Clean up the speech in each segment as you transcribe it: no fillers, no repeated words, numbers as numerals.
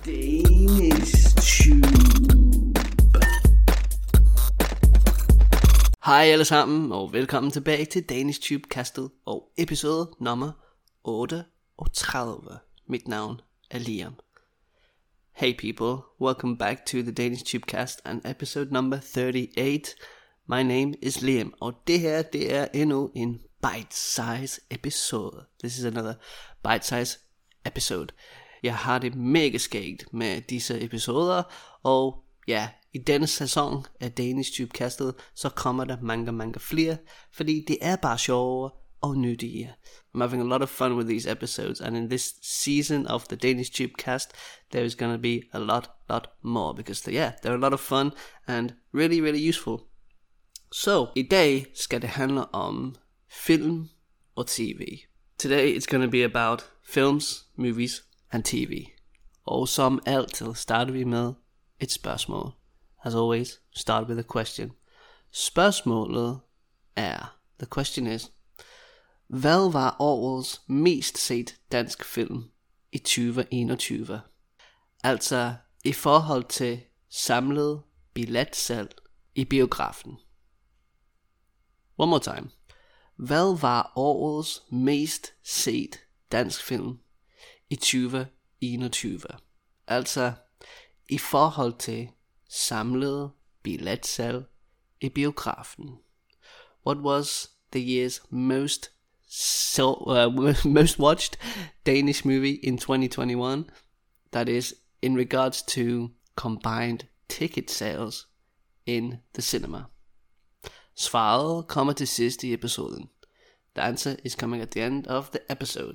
Danish Tube. Hej alle sammen, og velkommen tilbage til Danish Tube kastet og episode nummer 38. Mit navn er Liam. Hey people, welcome back to the Danish Tube cast and episode number 38. My name is Liam, og det her, det er endnu en bite-size episode. This is another bite-size episode. Jeg har det mega skægt med disse episoder, og ja, i denne sæson af Danish Tube kastet, så kommer der mange flere, fordi det er bare sjovere og nyttige. I'm having a lot of fun with these episodes, and in this season of the Danish Tube cast, there is going to be a lot more, because they're a lot of fun and really useful. Så i dag skal det handle om film og tv. Today it's going to be about films, movies and TV. Og som altid starter vi med et spørgsmål. As always, start with a question. Spørgsmålet er, the question is, hvad var årets mest set dansk film i 2021? Altså i forhold til samlet billetsalg i biografen. One more time. Hvad var årets mest set dansk film i 2021? Altså i forhold til samlet billetsalg i biografen. What was the year's most watched Danish movie in 2021? That is in regards to combined ticket sales in the cinema. Svaret kommer til sidst i episoden. The answer is coming at the end of the episode.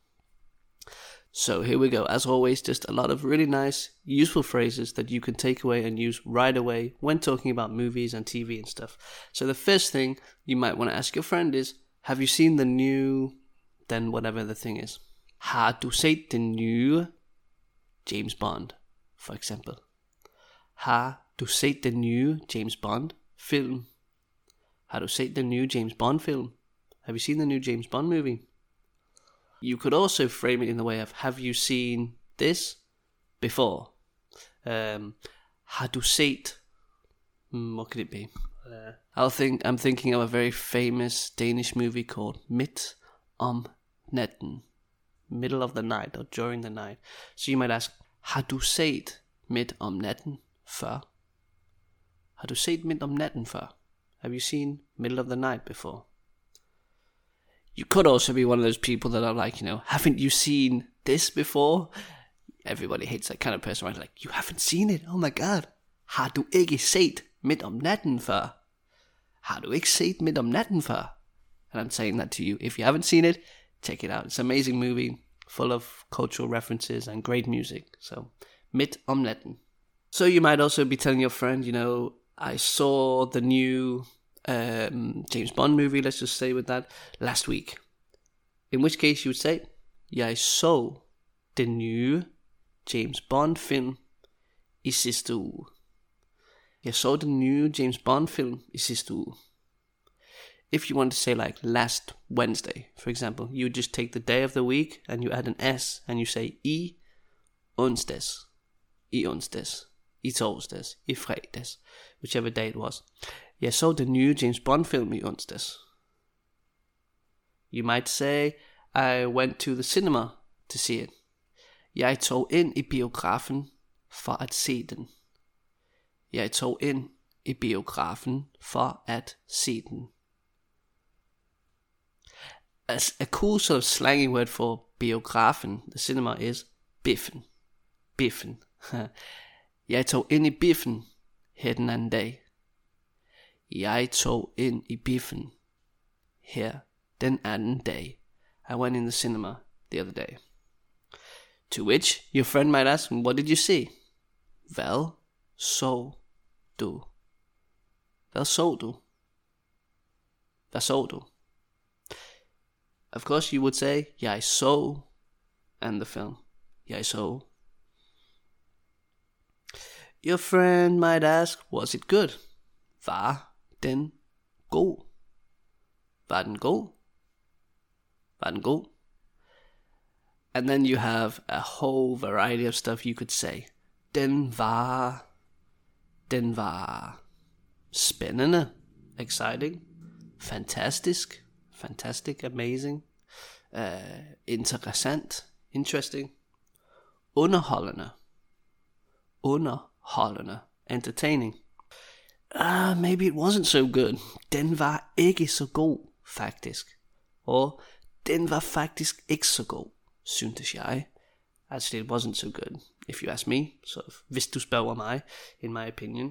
So here we go. As always, just a lot of really nice, useful phrases that you can take away and use right away when talking about movies and TV and stuff. So the first thing you might want to ask your friend is, have you seen the new, then whatever the thing is. Har du set den nye James Bond, for eksempel? Har du set den nye James Bond film? Har du set den nye James Bond film? Have you seen the new James Bond movie? You could also frame it in the way of, have you seen this before? Har du set? What could it be? I'm thinking of a very famous Danish movie called Midt om natten. Middle of the night or during the night. So you might ask, har du set Midt om natten før? Har du set Midt om natten før? Have you seen Middle of the Night before? You could also be one of those people that are like, haven't you seen this before? Everybody hates that kind of person, right? Like, you haven't seen it? Oh my god. Har du ikke set Midt om natten før? Har du ikke set Midt om natten før? And I'm saying that to you. If you haven't seen it, check it out. It's an amazing movie, full of cultural references and great music. So, Midt om natten. So you might also be telling your friend, I saw the new James Bond movie, let's just say with that, last week. In which case you would say, jeg så den nye James Bond film i sidste uge. Jeg så den nye James Bond film i sidste uge. If you want to say like last Wednesday, for example, you just take the day of the week and you add an S and you say i onsdags. I onsdags. I torsdags, i fredags, whichever day it was. Jeg så den nye James Bond film i onsdags. You might say, I went to the cinema to see it. Jeg tog ind i biografen for at se den. Jeg tog ind i biografen for at se den. As a cool sort of slangy word for biografen, the cinema is biffen. Biffen. Jeg tog ind i biffen her den anden dag. Jeg tog ind i biffen her den anden dag. I went in the cinema the other day. To which your friend might ask, what did you see? Hvad så du? Hvad så du? Hvad så du? Of course you would say, jeg så, and the film. Jeg så. Your friend might ask, was it good? Var den god? Var den god? Var den god? And then you have a whole variety of stuff you could say. Den var spændende, exciting, fantastic, amazing, interessant, interesting, underholdende, entertaining. Maybe it wasn't so good. Den var ikke så god, faktisk. Og den var faktisk ikke så god, syntes jeg. Actually, it wasn't so good, if you ask me. So, hvis du spørger mig, in my opinion.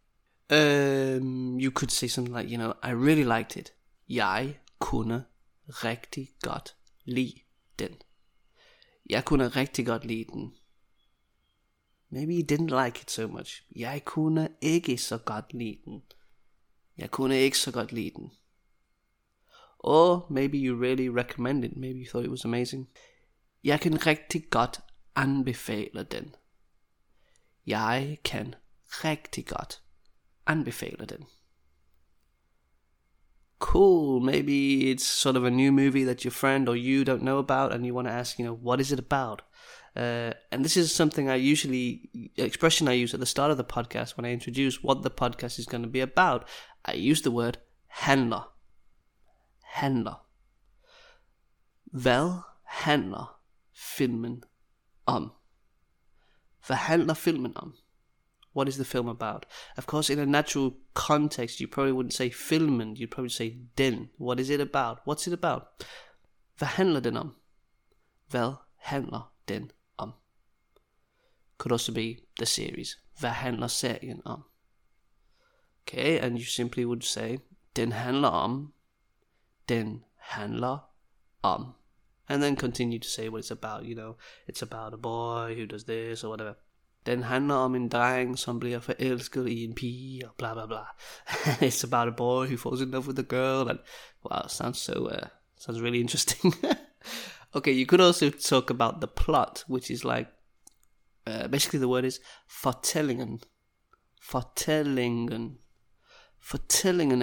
You could say something like, I really liked it. Jeg kunne rigtig godt lide den. Jeg kunne rigtig godt lide den. Maybe you didn't like it so much. Jeg kunne ikke så godt lide den. Jeg kunne ikke så godt lide den. Or maybe you really recommend it. Maybe you thought it was amazing. Jeg kan rigtig godt anbefale den. Jeg kan rigtig godt anbefale den. Cool, maybe it's sort of a new movie that your friend or you don't know about and you want to ask, what is it about? And this is something expression I use at the start of the podcast when I introduce what the podcast is going to be about. I use the word handler. Hvad handler filmen om? Hvad handler filmen om? What is the film about? Of course, in a natural context, you probably wouldn't say filmen, you'd probably say den. What is it about? What's it about? Hvad handler den om? Hvad handler den om? Could also be the series. Hvad handler serien om? Okay, and you simply would say, den handler om. Den handler om. And then continue to say what it's about, it's about a boy who does this or whatever. Den handler om en dreng, som bliver forelsket i en pige, og bla bla bla. It's about a boy who falls in love with a girl, and wow, sounds really interesting. Okay, you could also talk about the plot, which is like, basically the word is fortællingen. Fortællingen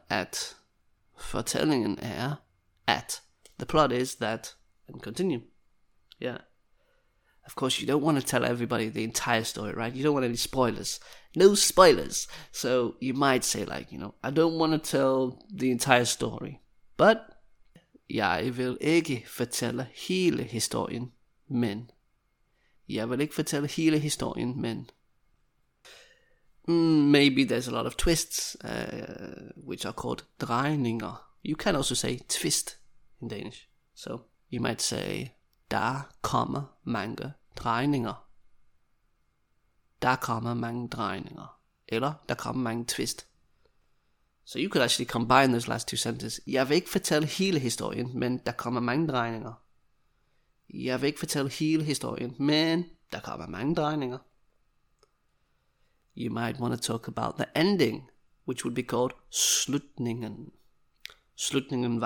er at. The plot is that, and continue. Yeah. Of course, you don't want to tell everybody the entire story, right? You don't want any spoilers. No spoilers. So you might say like, I don't want to tell the entire story. But jeg vil ikke fortælle hele historien, men. Jeg vil ikke fortælle hele historien, men. Maybe there's a lot of twists, which are called drejninger. You can also say twist in Danish. So you might say, der kommer mange drejninger. Der kommer mange drejninger. Eller, der kommer mange twist. So you could actually combine those last two sentences. Jeg vil ikke fortælle hele historien, men der kommer mange drejninger. Jeg vil ikke fortælle hele historien, men der kommer mange drejninger. You might want to talk about the ending, which would be called slutningen. Slutningen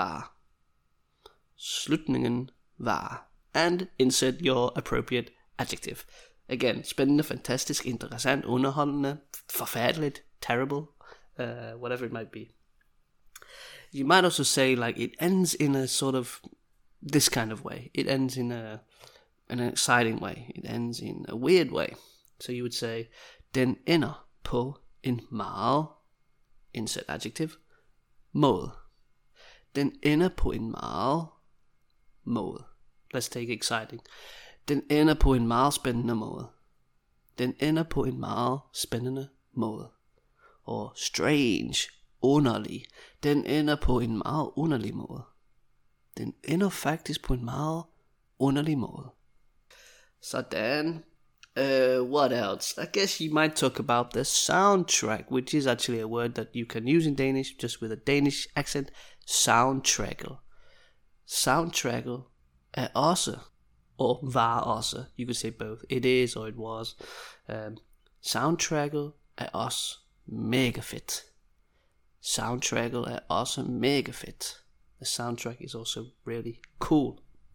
var. And insert your appropriate adjective. Again, spændende, fantastisk, interessant, underholdende, forfærdeligt, terrible, whatever it might be. You might also say like it ends in a sort of this kind of way. It ends in an exciting way. It ends in a weird way. So you would say, den ender på en meget, insert adjective, måde. Den ender på en meget måde. Let's take exciting. Den ender på en meget spændende måde. Den ender på en meget spændende måde. Og strange, underlig. Den ender på en meget underlig måde. Den ender faktisk på en meget underlig måde. Sådan. What else? I guess you might talk about the soundtrack, which is actually a word that you can use in Danish, just with a Danish accent. Soundtracket. Soundtracket er også, og var også. You could say both. It is or it was. Soundtracket er også mega fedt. Soundtracket er også mega fedt. The soundtrack is also really cool.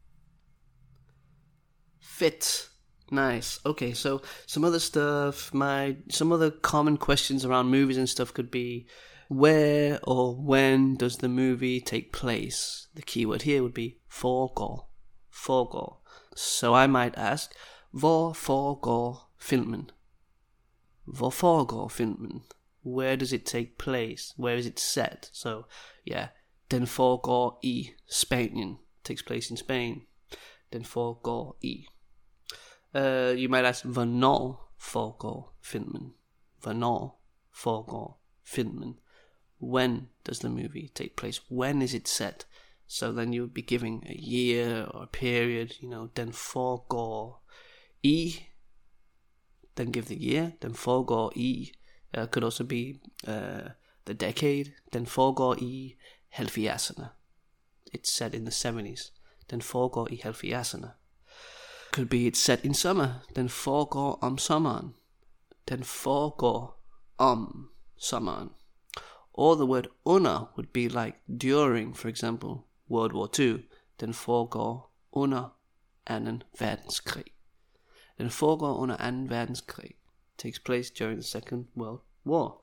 Fit. Nice. Okay, so some other stuff, some other common questions around movies and stuff could be, where or when does the movie take place? The keyword here would be foregår. So I might ask, hvor foregår filmen? Hvor foregår filmen? Where does it take place? Where is it set? So, yeah, den foregår i Spanien. Takes place in Spain. Den foregår i. You might ask, hvornår foregår filmen? Hvornår foregår filmen? When does the movie take place? When is it set? So then you would be giving a year or a period, den foregår i. Then give the year, den foregår i. Could also be the decade, den foregår i 70'erne. It's set in the 70s. Den foregår i 70'erne. Could be it's set in summer. Den foregår om sommeren. Den foregår om sommeren. Or the word under would be like during, for example, World War II. Den foregår under 2. verdenskrig. Den foregår under 2. verdenskrig. Takes place during the Second World War.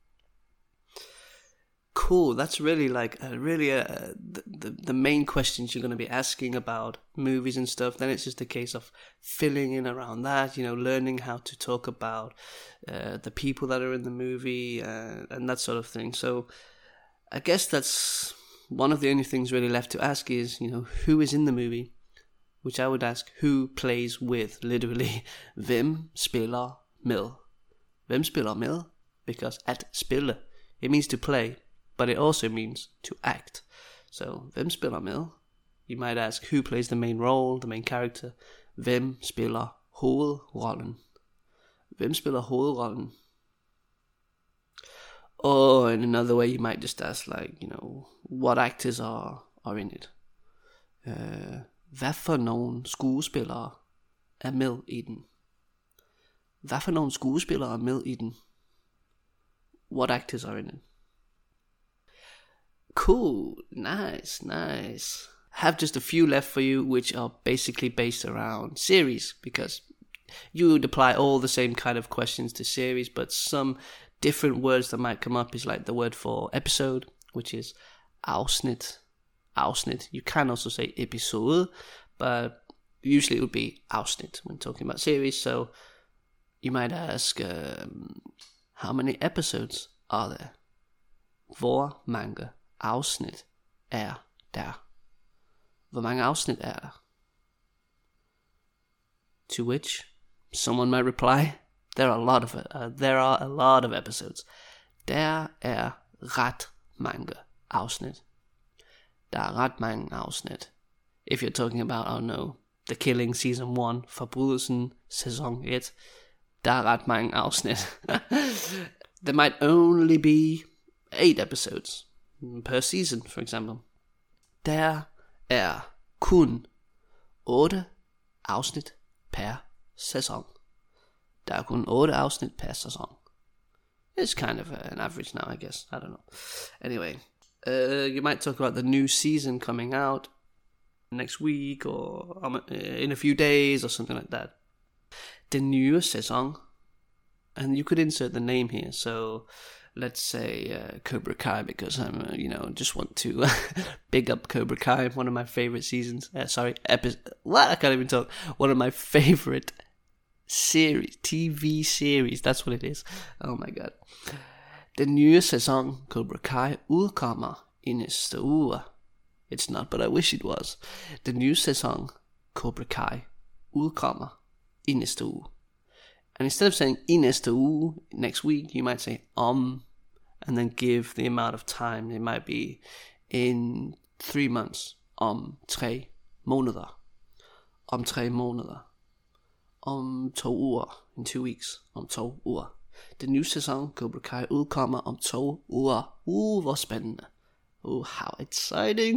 Cool. That's really like the main questions you're going to be asking about movies and stuff. Then it's just a case of filling in around that, learning how to talk about the people that are in the movie and that sort of thing. So I guess that's one of the only things really left to ask is, who is in the movie? Which I would ask, who plays with, literally. Hvem spiller med? Hvem spiller med? Because at spille, it means to play, but it also means to act. So, hvem spiller med? You might ask, who plays the main role, the main character? Hvem spiller hovedrollen? Hvem spiller hovedrollen? Or in another way, you might just ask, like, what actors are in it? Hvad for nogle skuespillere er med i den? Hvad for nogle skuespillere er med i den? What actors are in it? Cool, nice. I have just a few left for you, which are basically based around series, because you would apply all the same kind of questions to series, but some different words that might come up is like the word for episode, which is afsnit. You can also say episode, but usually it would be afsnit when talking about series. So you might ask, how many episodes are there? Hvor mange afsnit er der? Hvor mange afsnit er der? To which someone might reply, there are a lot of episodes. Der er ret mange afsnit. Der er ret mange afsnit. If you're talking about, The Killing Season 1, Forbrydelsen Sæson 1, der er ret mange afsnit. There might only be 8 episodes per season, for example. Der er kun 8 afsnit per sæson. Der er kun 8 afsnit per sæson. It's kind of an average now, I guess. I don't know. Anyway, you might talk about the new season coming out next week or in a few days or something like that. Den nye sæson. And you could insert the name here. So let's say Cobra Kai, because I'm, just want to big up Cobra Kai, one of my favorite seasons. What? I can't even talk. One of my favorite series, TV series. That's what it is. Oh my god. Den nye sæson Cobra Kai udkommer i næste uge. It's not, but I wish it was. Den nye sæson Cobra Kai udkommer i næste uge. And instead of saying i næste uge, next week, you might say and then give the amount of time. It might be in 3 months, 3 måneder, 3 måneder, 2 uger, in 2 weeks, 2 uger. Den nye sæson Cobra Kai udkommer om 2 uger. Hvor spændende. How exciting.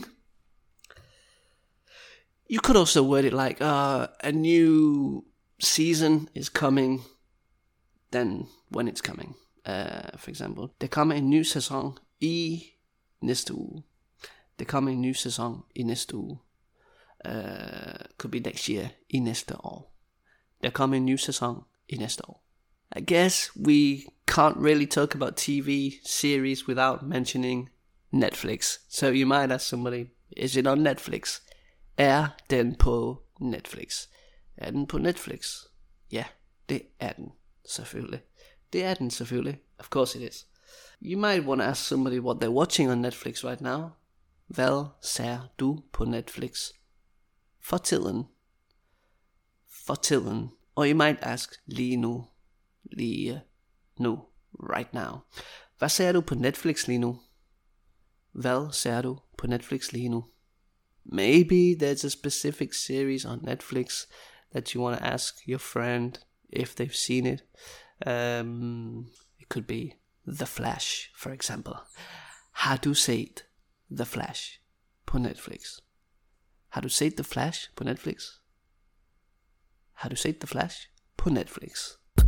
You could also word it like a new season is coming, then when it's coming. For example, der kommer en ny sæson i næste uge. Der kommer en ny sæson i næste uge. Could be next year, i næste år. Der kommer en ny sæson i næste år. I guess we can't really talk about TV series without mentioning Netflix. So you might ask somebody, is it on Netflix? Er den på Netflix? Er den på Netflix? Ja, det er den selvfølgelig. Det er den selvfølgelig. Of course it is. You might want to ask somebody what they're watching on Netflix right now. Hvad ser du på Netflix for tiden? For tiden. Or you might ask lige nu. Lige nu. Right now. Hvad ser du på Netflix lige nu? Hvad ser du på Netflix lige nu? Maybe there's a specific series on Netflix that you want to ask your friend if they've seen it. It could be The Flash, for example. Har du set The Flash på Netflix? Har du set The Flash på Netflix? Har du set The Flash på Netflix?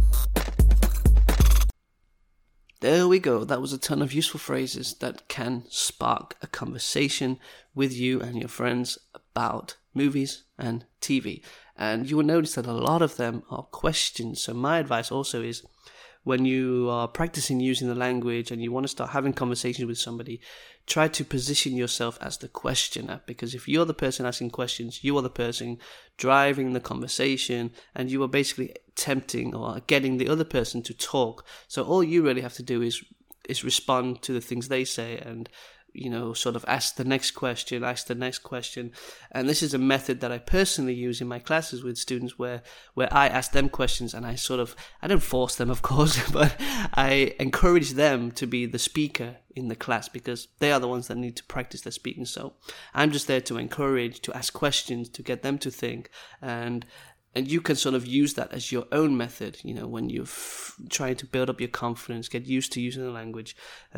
There we go. That was a ton of useful phrases that can spark a conversation with you and your friends about movies and TV. And you will notice that a lot of them are questions. So my advice also is, when you are practicing using the language and you want to start having conversations with somebody, try to position yourself as the questioner, because if you're the person asking questions, you are the person driving the conversation, and you are basically tempting or getting the other person to talk. So all you really have to do is respond to the things they say, and sort of ask the next question. And this is a method that I personally use in my classes with students, where I ask them questions, and I don't force them, of course, but I encourage them to be the speaker in the class, because they are the ones that need to practice their speaking. So I'm just there to encourage, to ask questions, to get them to think, and you can sort of use that as your own method, when you're trying to build up your confidence, get used to using the language.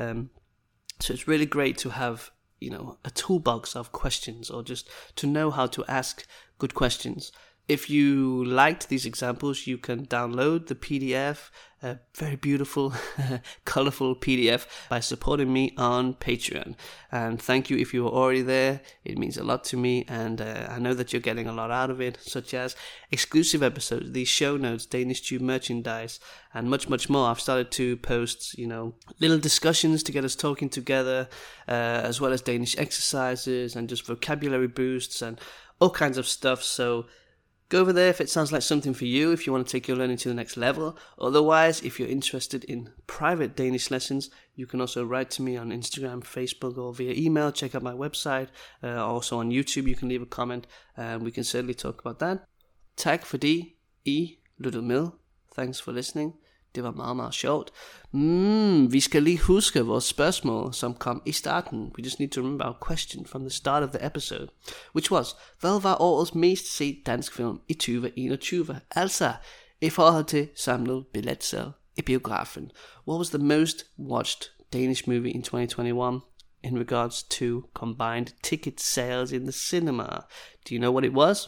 So it's really great to have, a toolbox of questions, or just to know how to ask good questions. If you liked these examples, you can download the PDF, a very beautiful, colorful PDF, by supporting me on Patreon. And thank you if you are already there. It means a lot to me, and I know that you're getting a lot out of it, such as exclusive episodes, these show notes, Danish Tube merchandise, and much, much more. I've started to post, little discussions to get us talking together, as well as Danish exercises and just vocabulary boosts and all kinds of stuff. So go over there if it sounds like something for you, if you want to take your learning to the next level. Otherwise, if you're interested in private Danish lessons, you can also write to me on Instagram, Facebook, or via email. Check out my website. Also on YouTube, you can leave a comment, and we can certainly talk about that. Tak fordi I lyttede med. Thanks for listening. Det var meget, meget sjovt. Vi skal lige huske vores spørgsmål, som kom i starten. We just need to remember our question from the start of the episode, which was, hvad var årets mest set dansk film i 2021? Altså, i forhold til samlet billetsalg i biografen. What was the most watched Danish movie in 2021 in regards to combined ticket sales in the cinema? Do you know what it was?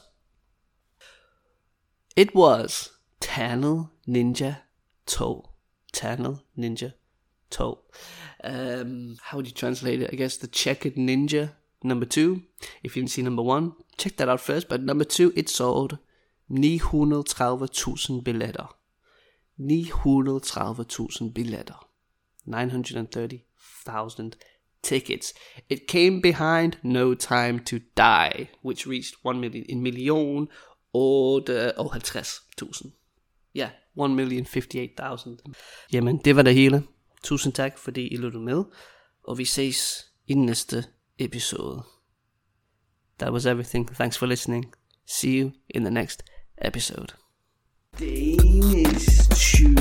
It was Tunnel Ninja 2. Tunnel Ninja 2. How would you translate it? I guess the Checkered Ninja number 2. If you didn't see number 1, check that out first. But number 2, it sold 930.000 billetter. 930.000 billetter. 930,000 tickets. It came behind No Time to Die, which reached 1 million, 1.050.000. Ja, 1.058.000. Jamen, det var det hele. Tusind tak, fordi I lyttede med. Og vi ses i næste episode. That was everything. Thanks for listening. See you in the next episode. Danish Tube.